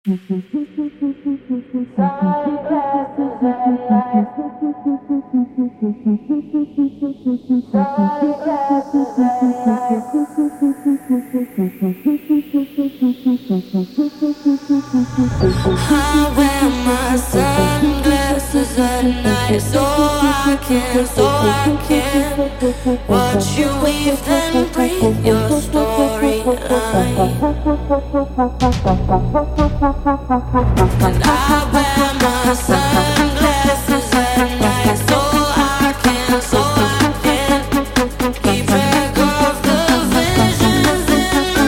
Sunglasses and lights. Sunglasses and lights. I wear my sunglasses at night so I can watch you weave and breathe your storyline. And I wear my sunglasses at night so I can keep track of the visions in my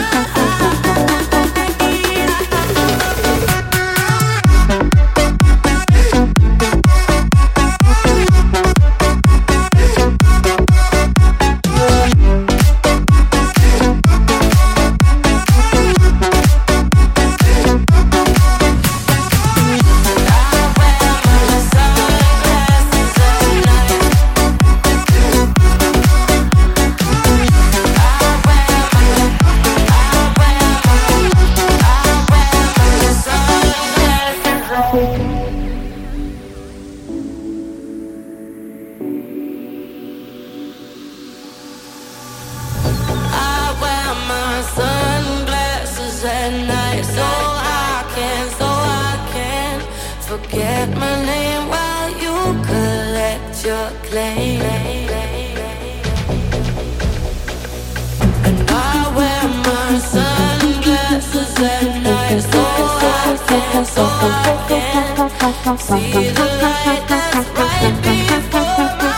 forget my name while you collect your claim. And I wear my sunglasses at night so I can see the light that's right before my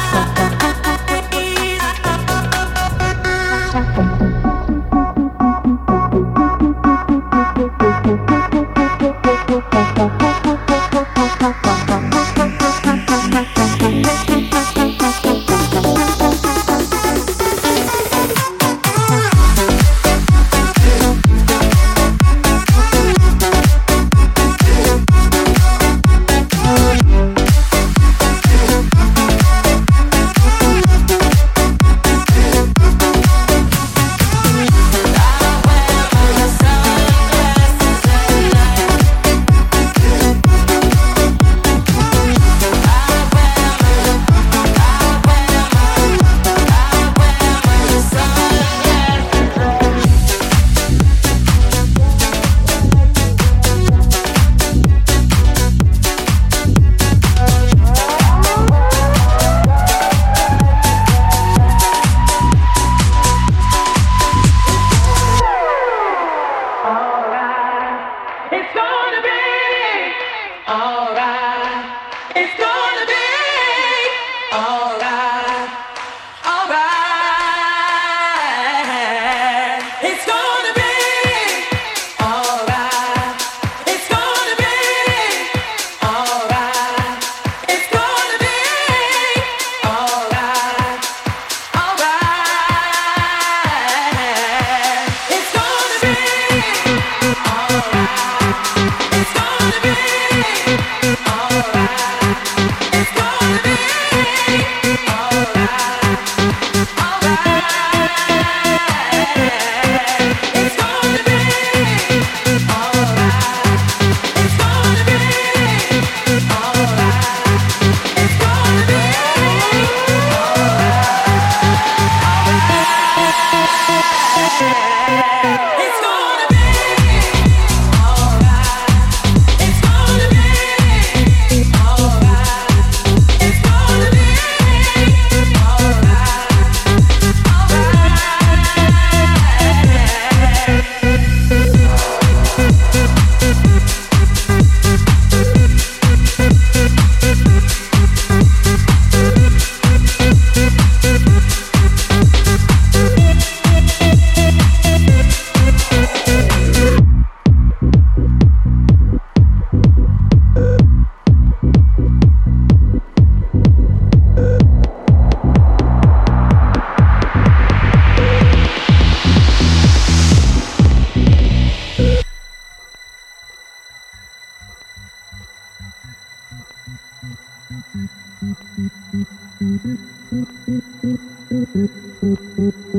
Thank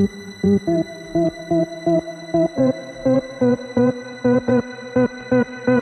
you.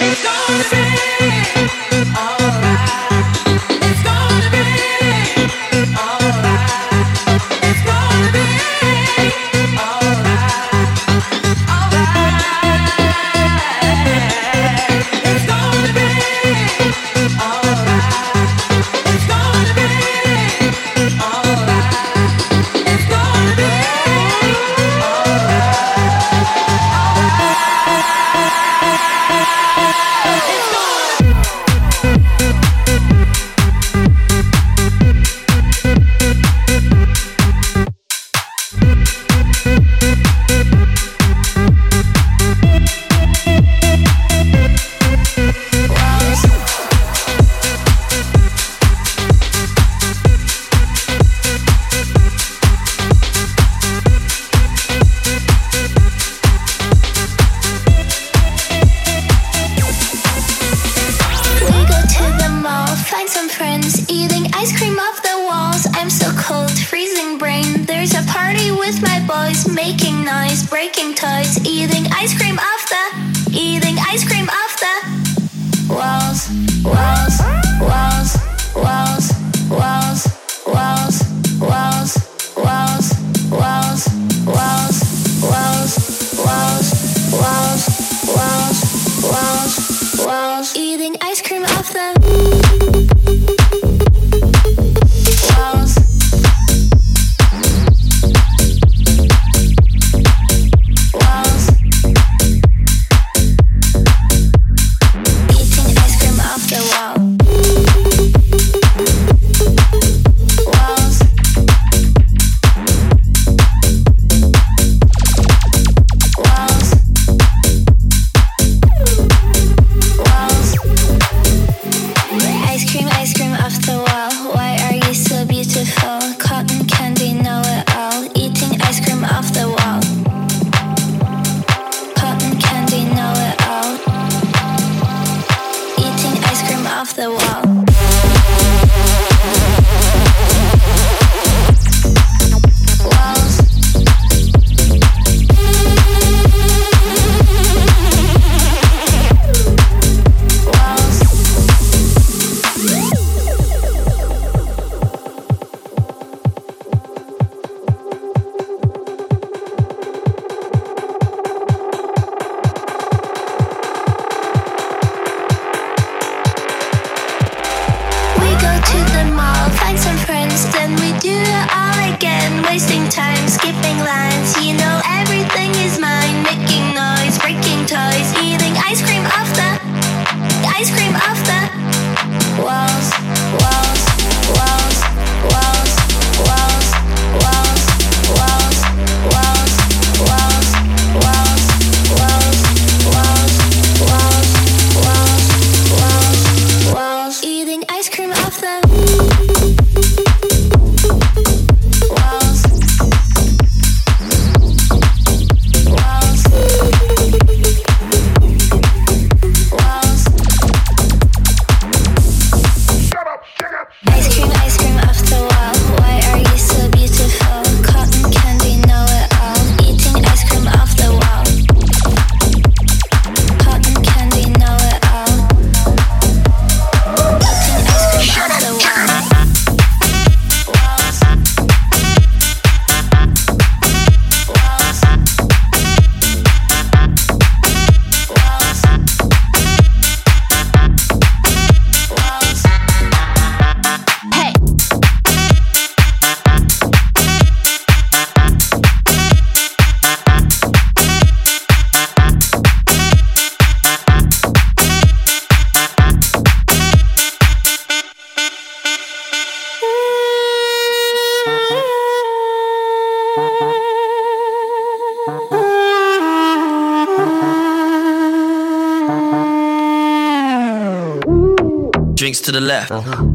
Drinks to the left,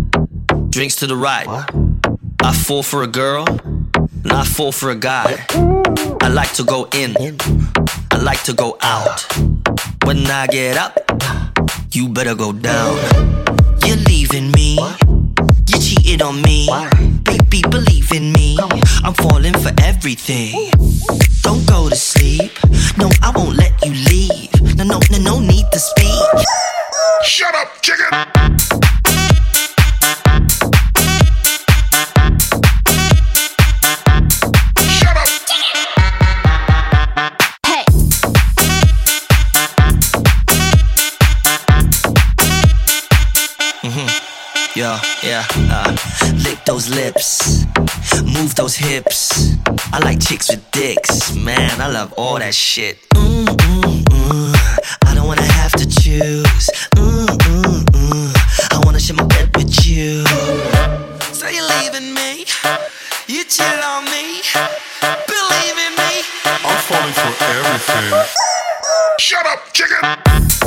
drinks to the right. What? I fall for a girl, and I fall for a guy. I like to go in, I like to go out. When I get up, you better go down. You're leaving me, you cheated on me. Baby, believe in me, I'm falling for everything. Don't go to sleep, no, I won't let you leave. No need to speak. Shut up, chicken! Lick those lips, move those hips. I like chicks with dicks, man, I love all that shit. I don't wanna have to choose. I wanna share my bed with you. So you're leaving me, you chill on me, believe in me. I'm falling for everything. Shut up, chicken!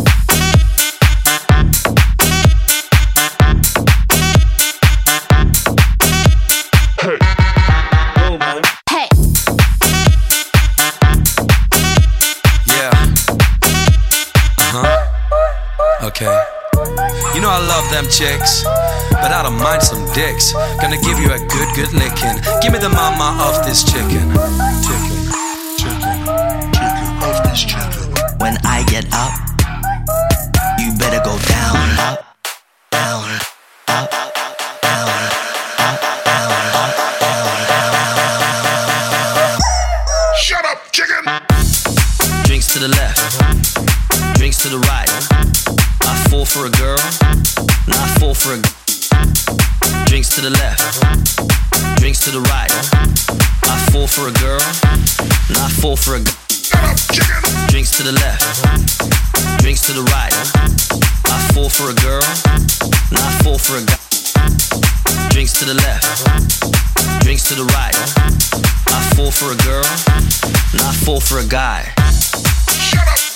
Okay. You know I love them chicks, but I don't mind some dicks. Gonna give you a good licking. Give me the mama of this chicken. Chicken of this chicken. When I get up, you better go down, up, down, up, down, up, down, up, down, down. Shut up, chicken! Drinks to the left, drinks to the right. I fall for a girl, now I fall for a. Drinks to the left, drinks to the right. I fall for a girl, now I fall for a. Drinks to the left, drinks to the right. I fall for a girl, now I fall for a guy. Drinks to the left, drinks to the right. I fall for a girl, now I fall for a guy. Shut up!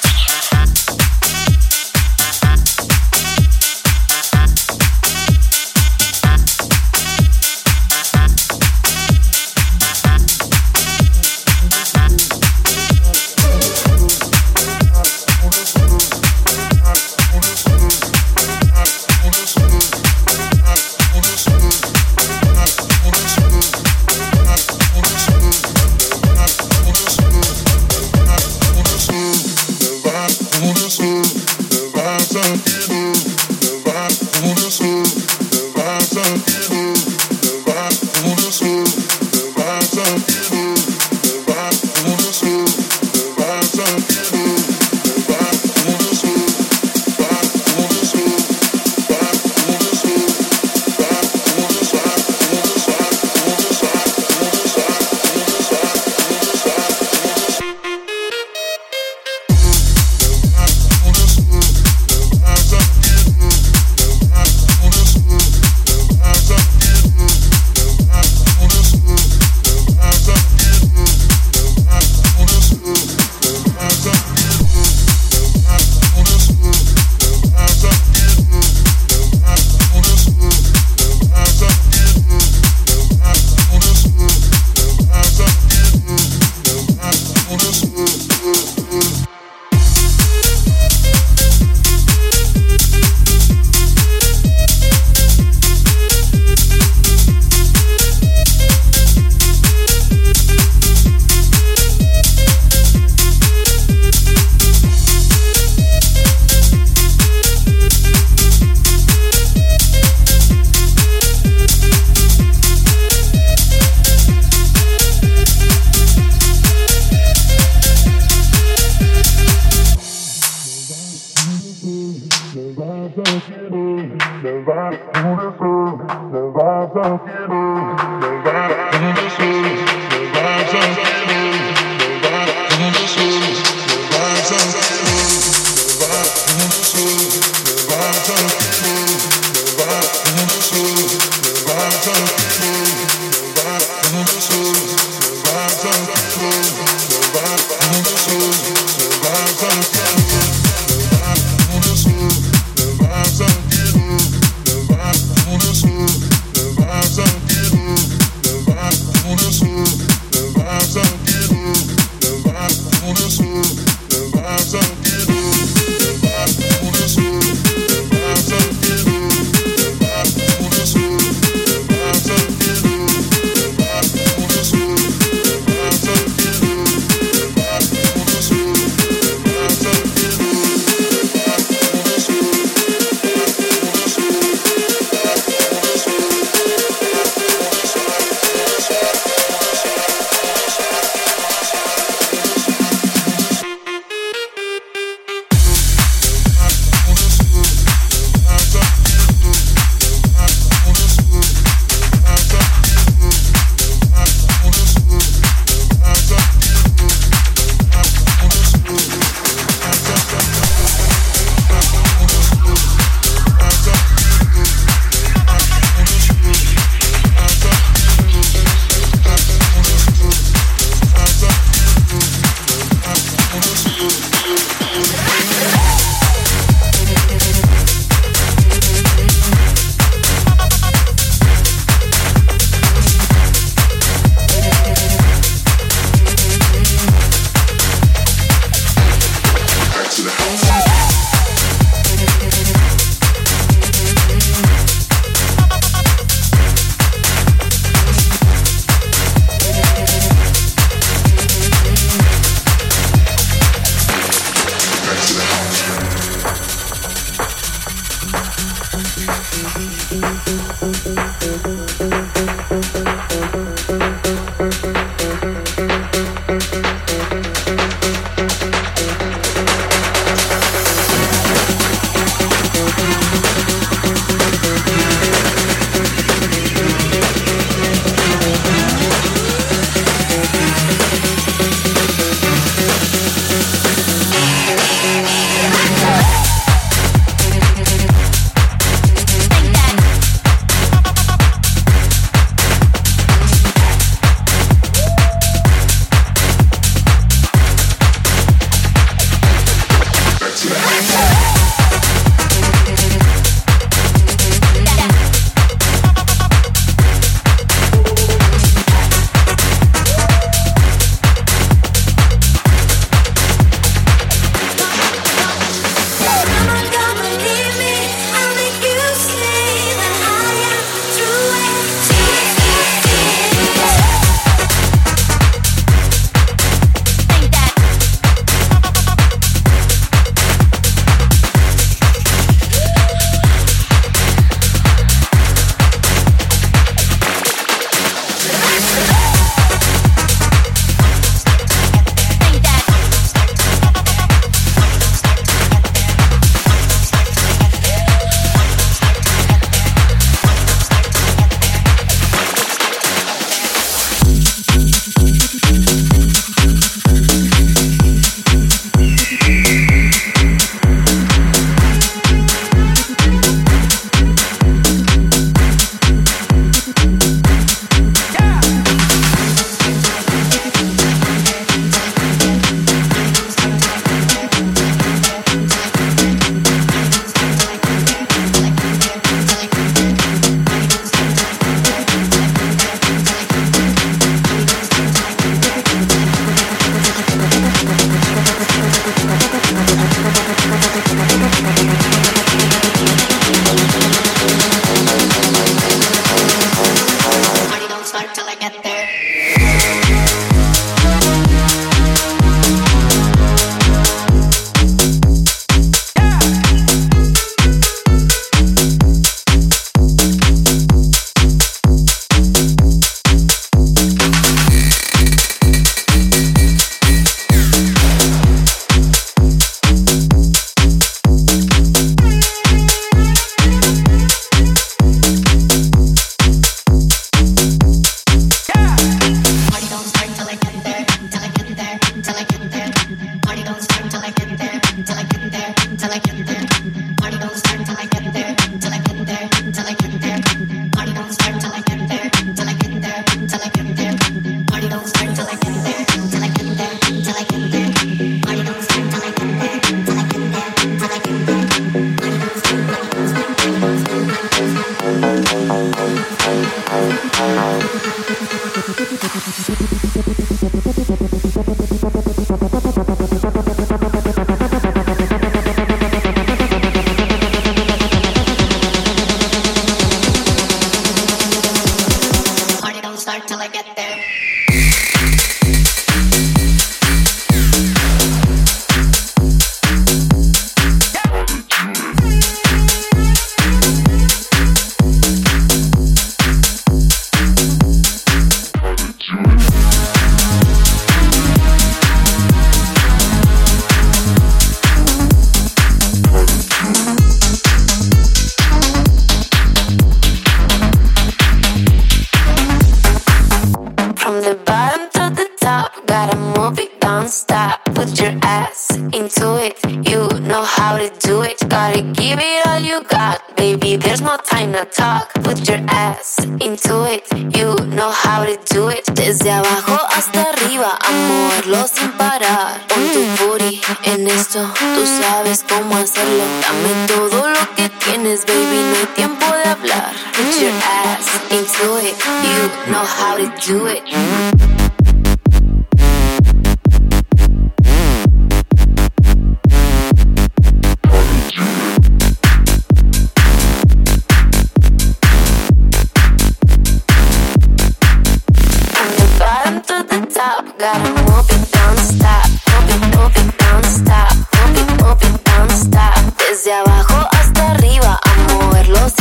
Desde abajo hasta arriba, a moverlo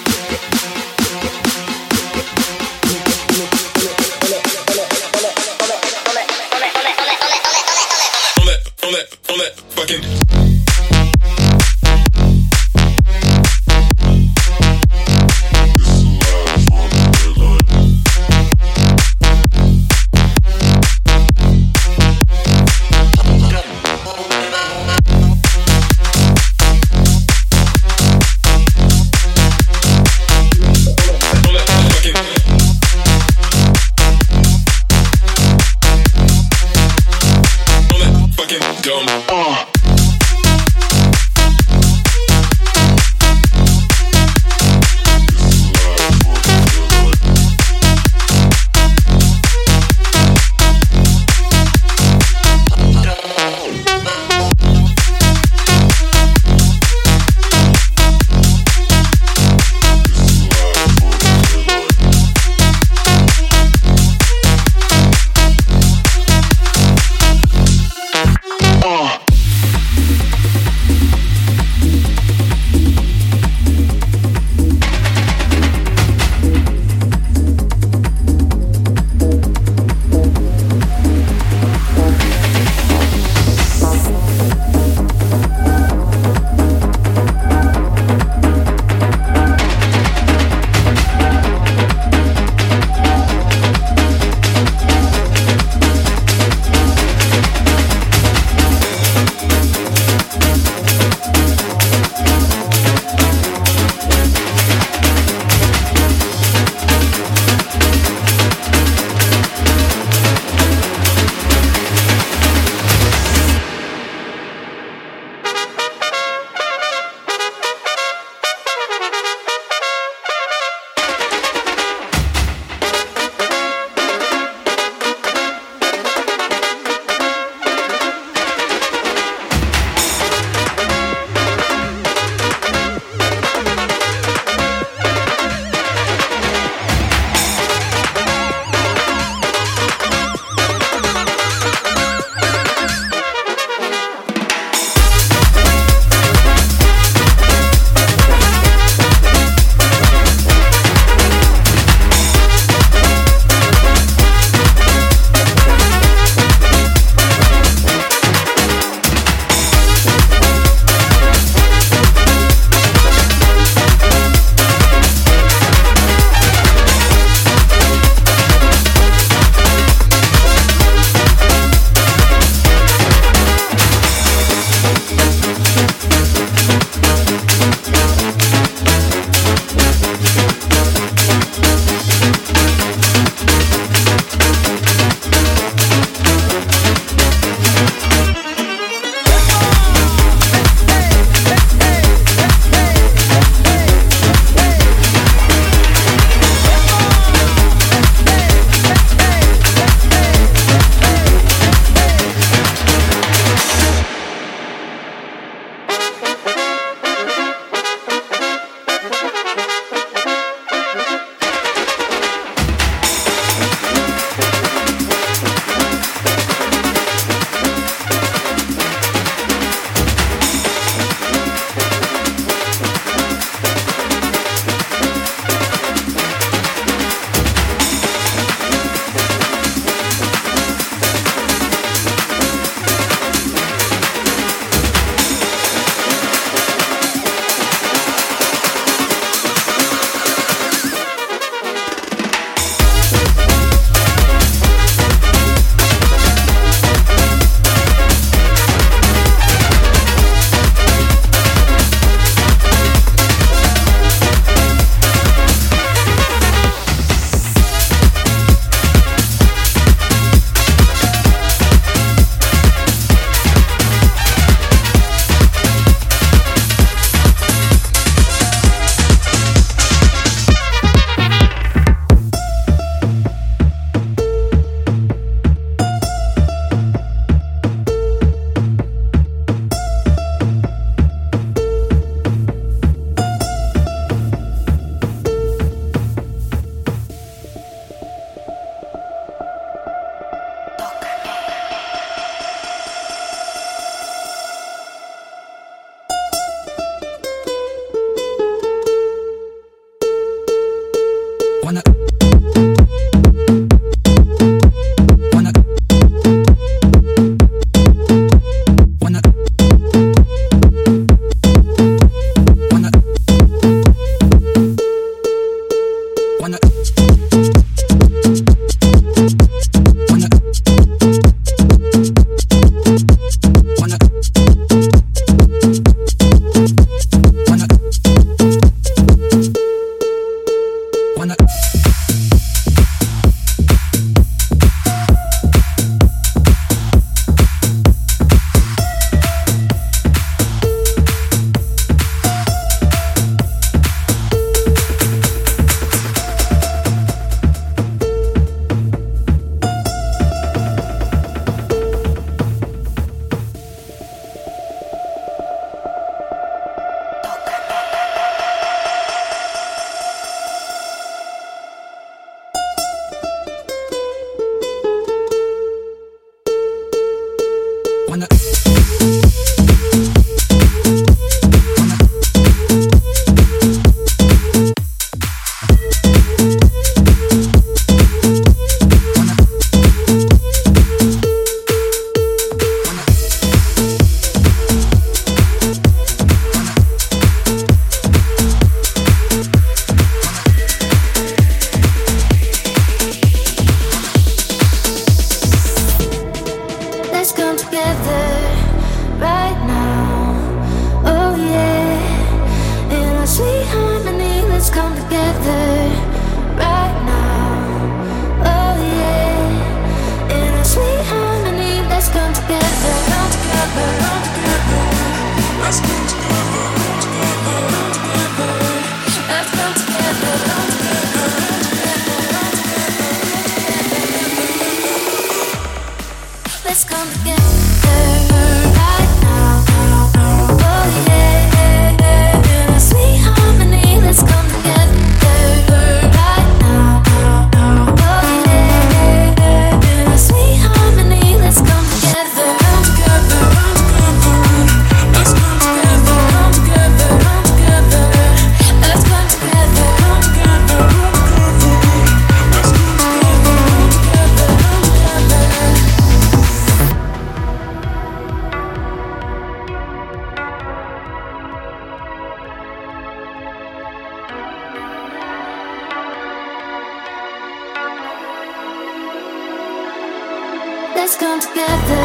Let's come together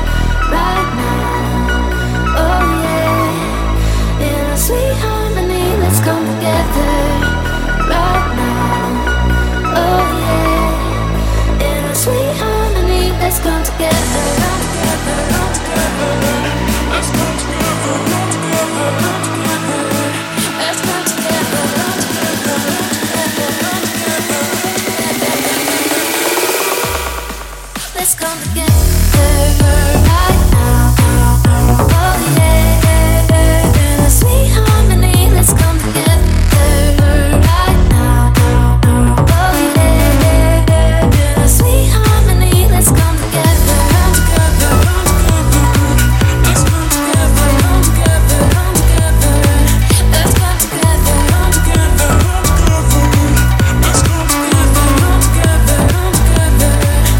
right now. Oh yeah, in a sweet harmony. Let's come together right now. Oh yeah, in a sweet harmony. Let's come together. Come together. Come together. Let's come together. Come together. Come together. Let's come together. Come together. Come together. Let's come together right now. Oh yeah, in a sweet harmony. Let's come together right now. Oh yeah, in a sweet harmony. Let's come together. Come together. Let's come together. Come together. Come together. Let's come together. Come together. Let's come together. Come together. Come together.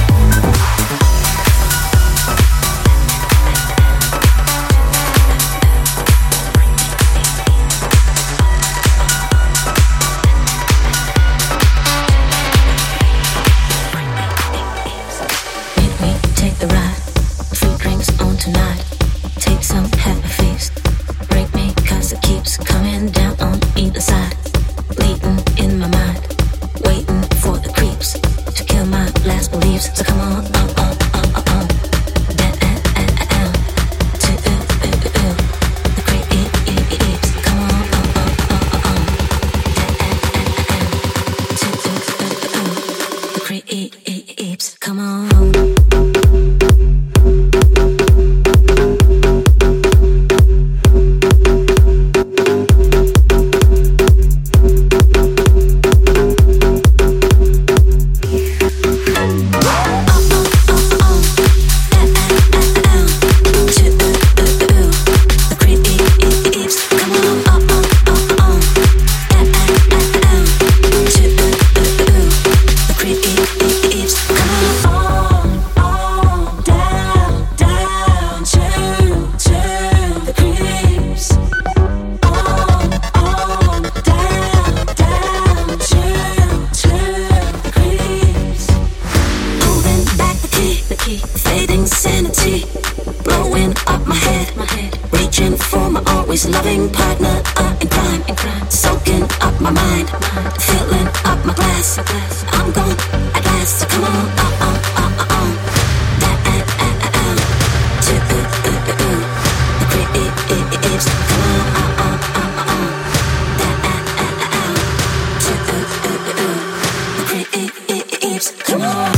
Take the ride, free drinks on tonight. Take some happy feast. Break me, cause it keeps coming down on either side. Bleeding in my mind, waiting for the creeps to kill my last beliefs. So come on, down, to the creeps. Come on, to the creeps. Come on. Fading sanity, blowing up my head, reaching for my always loving partner in crime, soaking up my mind, filling up my glass. I'm gone at last, so come on, to the creeps. Come on, to the creeps. Come on.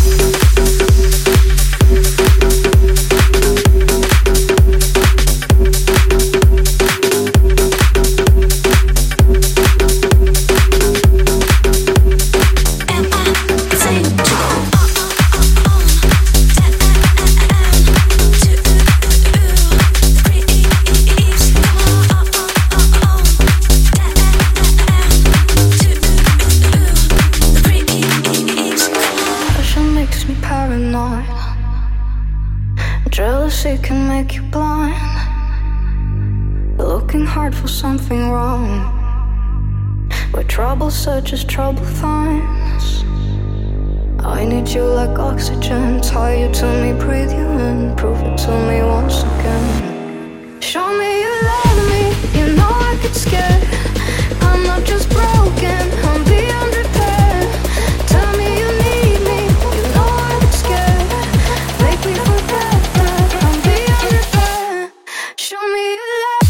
Am I paranoid. Jealousy can make you blind. Looking hard for something wrong. Where trouble searches, trouble finds. I need you like oxygen. Tie you to me, breathe you in. Prove it to me once again. Show me you love me. You know I get scared. I'm not just broken, I'm beyond repair. Tell me you need me. You know I get scared. Make me forget that I'm beyond repair. Show me you love.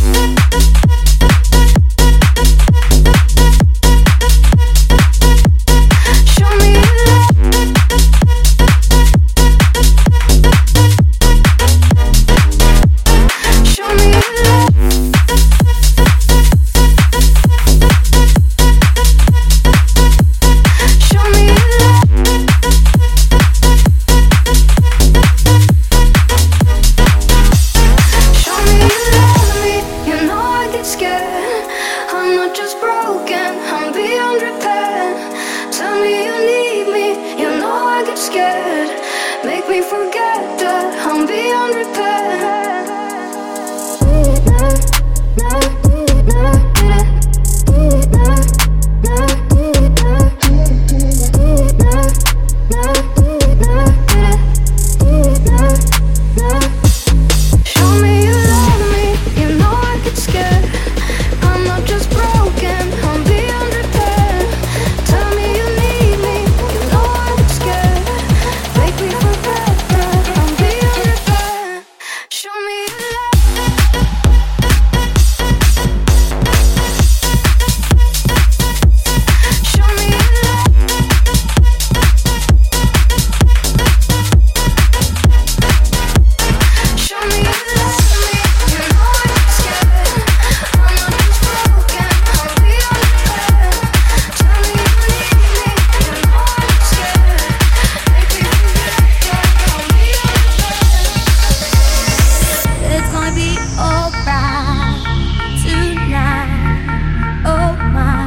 Show me you love. Show me you love. Show me you love. Show me you love me. You know I get scared. I'm not just broken, I'm beyond repair. Tell me you need me. You know I get scared. Make me forget that I'm beyond repair. Show me you love me. You know I get scared. I'm not just broken, I'm beyond repair. Tell me you need me. You know I get scared. Make me forget that I'm beyond repair. Show me you love. Show me you love. Show me you love me. You know I get scared. I'm not just broken, I'm beyond repair. Tell me you need me. You know I get scared. Make me forget that I'm beyond repair. It's gonna be alright tonight. Oh my,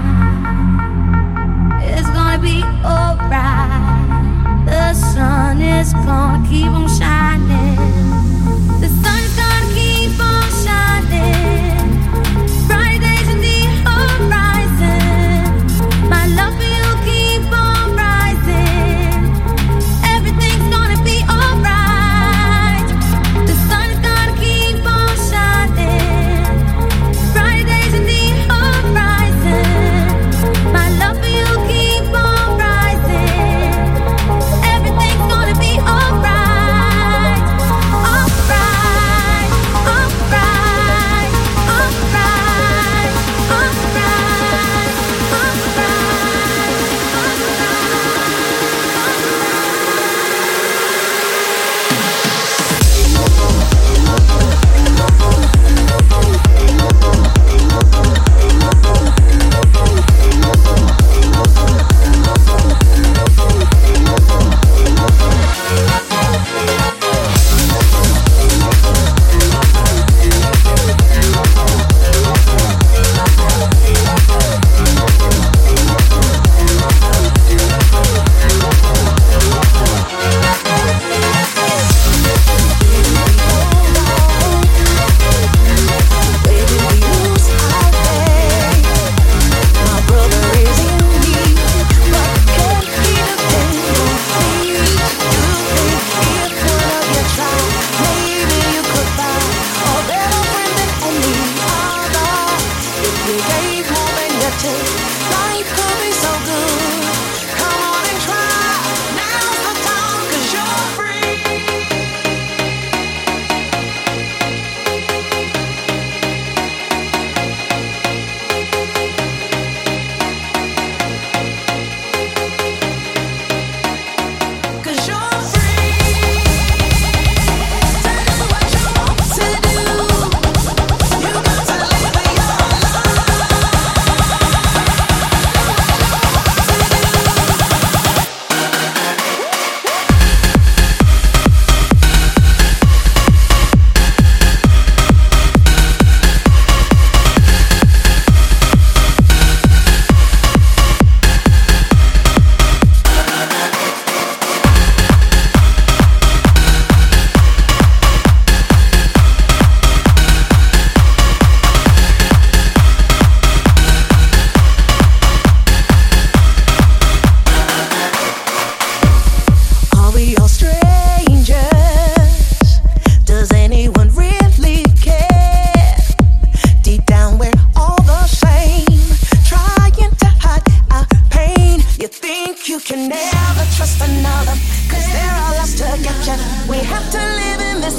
it's gonna be alright. The sun is gonna keep on shining. The sun's gonna keep on shining. Bright days in the horizon. My love for you keep on rising. Everything's gonna be alright. The sun is gonna keep on shining. Bright days in the horizon. My love for you keep on rising. Everything's gonna be alright.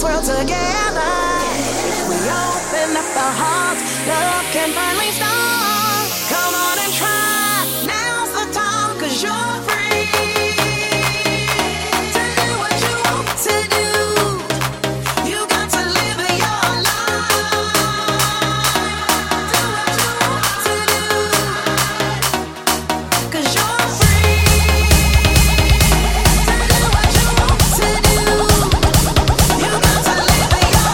world together. We open up our hearts, love can finally start. Come on and try, now's the time, 'cause you're free to do what you want to do. You got to live your life. Do what you want to do, 'cause you're free to do what you want to do. You got to live your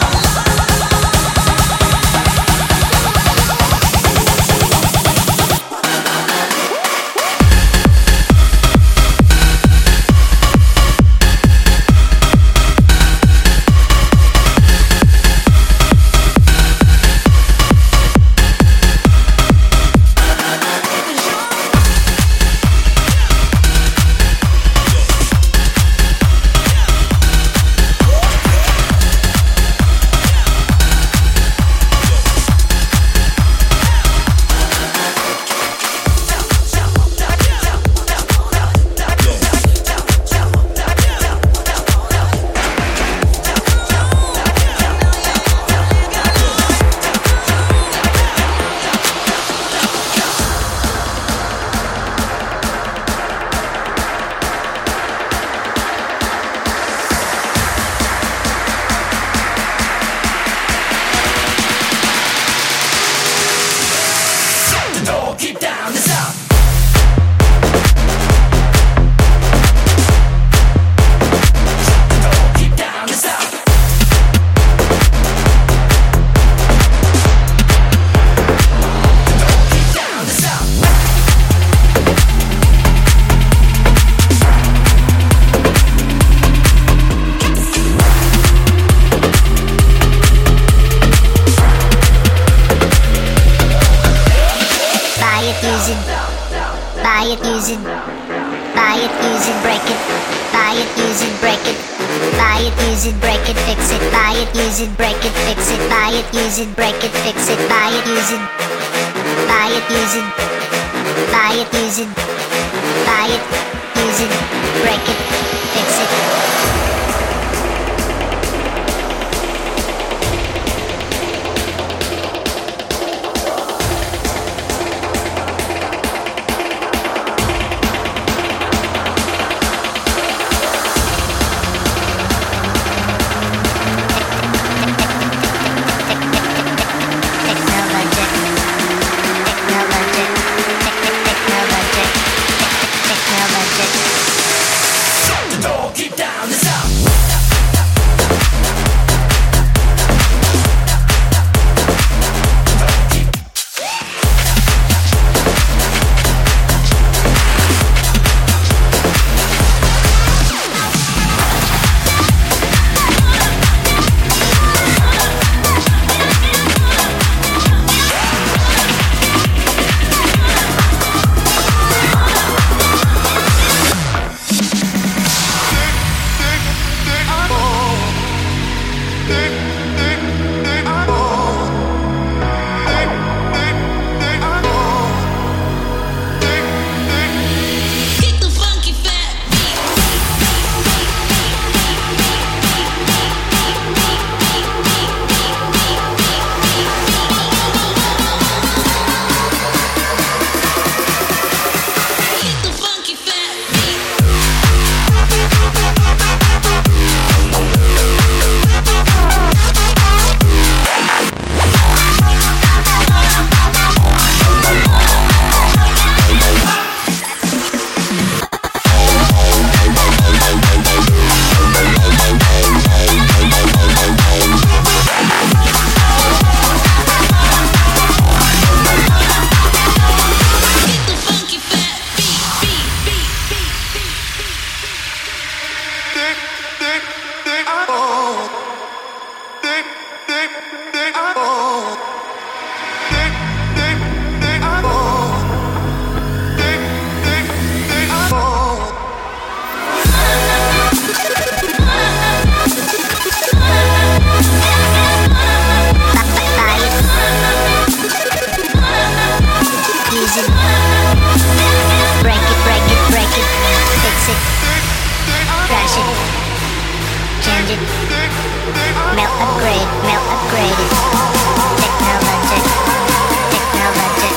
change it, Melt upgrade, melt upgraded. Technologic, technologic,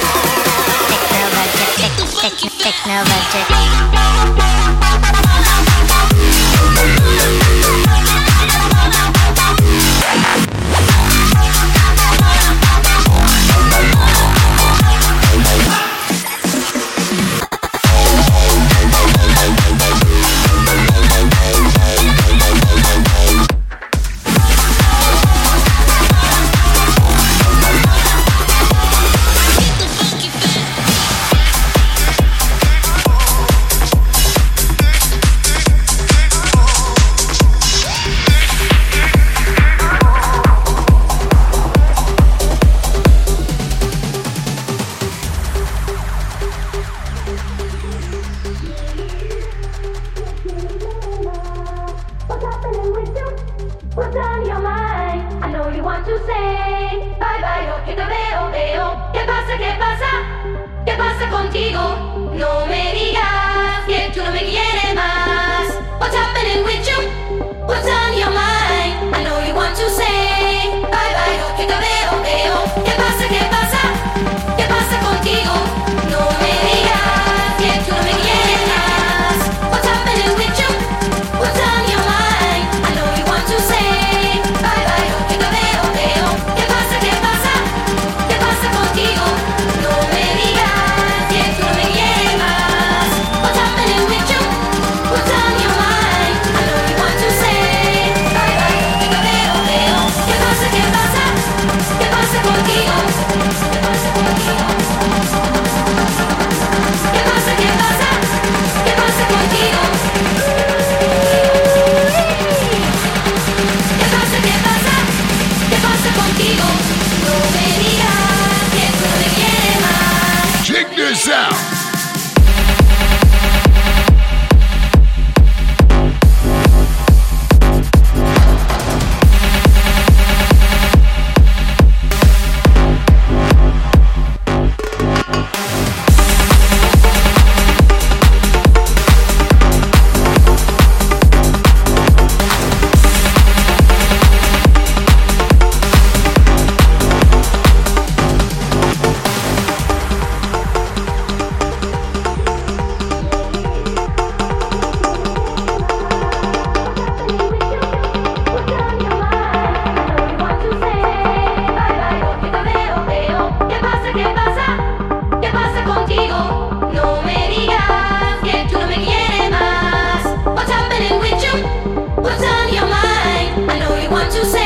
technologic, technologic. What's on your mind? I know you want to say